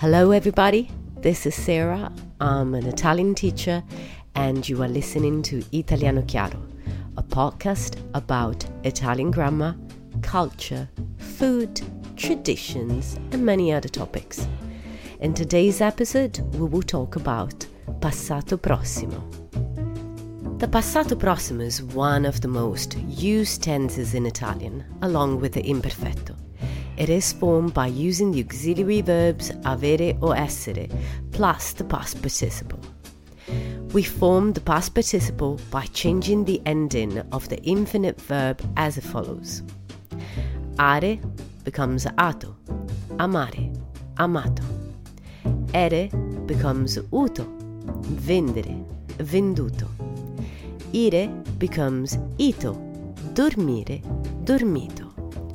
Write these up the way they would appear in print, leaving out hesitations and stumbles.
Hello everybody, this is Sarah. I'm an Italian teacher and you are listening to Italiano Chiaro, a podcast about Italian grammar, culture, food, traditions and many other topics. In today's episode, we will talk about passato prossimo. The passato prossimo is one of the most used tenses in Italian, along with the imperfetto. It is formed by using the auxiliary verbs avere or essere plus the past participle. We form the past participle by changing the ending of the infinite verb as follows. Are becomes ato, amare, amato. Ere becomes uto, vendere, venduto. Ire becomes ito, dormire, dormito.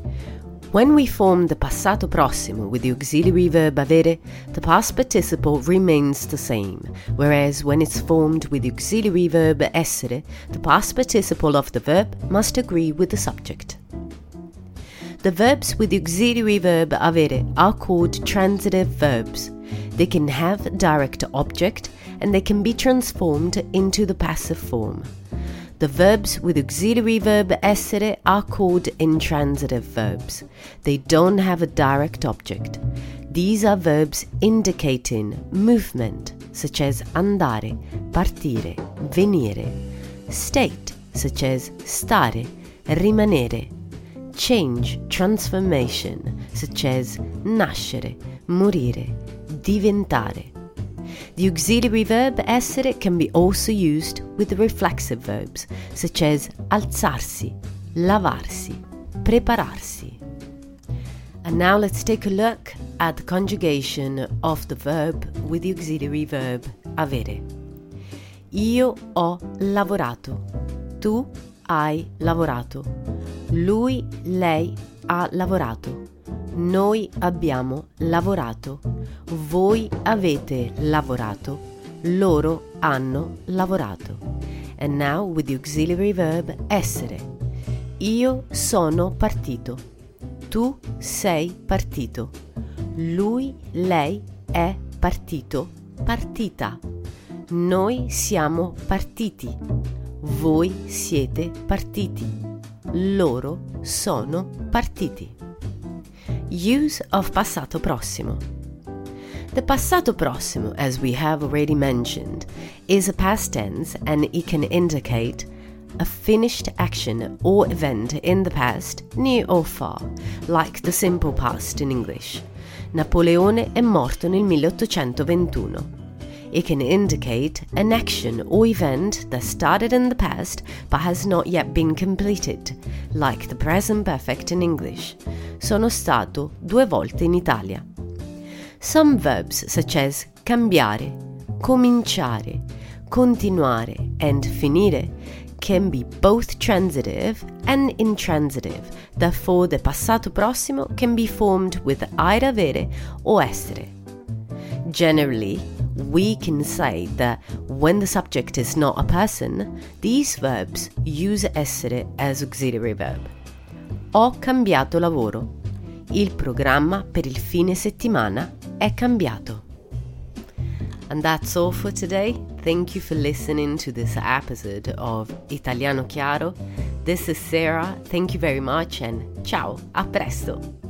When we form the passato prossimo with the auxiliary verb avere, the past participle remains the same, whereas when it's formed with the auxiliary verb essere, the past participle of the verb must agree with the subject. The verbs with the auxiliary verb avere are called transitive verbs. They can have direct object and they can be transformed into the passive form. The verbs with auxiliary verb essere are called intransitive verbs. They don't have a direct object. These are verbs indicating movement, such as andare, partire, venire, state, such as stare, rimanere, change, transformation, such as nascere, morire, diventare. The auxiliary verb essere can be also used with the reflexive verbs, such as alzarsi, lavarsi, prepararsi. And now let's take a look at the conjugation of the verb with the auxiliary verb avere. Io ho lavorato. Tu hai lavorato. Lui, lei ha lavorato. Noi abbiamo lavorato. Voi avete lavorato. Loro hanno lavorato. And now with the auxiliary verb essere. Io sono partito. Tu sei partito. Lui, lei è partito, partita. Noi siamo partiti. Voi siete partiti. Loro sono partiti. Use of passato prossimo. The passato prossimo, as we have already mentioned, is a past tense and it can indicate a finished action or event in the past, near or far, like the simple past in English. Napoleone è morto nel 1821. It can indicate an action or event that started in the past but has not yet been completed, like the present perfect in English. Sono stato 2 volte in Italia. Some verbs such as cambiare, cominciare, continuare and finire can be both transitive and intransitive. Therefore, the passato prossimo can be formed with either avere or essere. Generally, we can say that when the subject is not a person, these verbs use essere as auxiliary verb. Ho cambiato lavoro. Il programma per il fine settimana è cambiato. And that's all for today. Thank you for listening to this episode of Italiano Chiaro. This is Sarah. Thank you very much and ciao, a presto!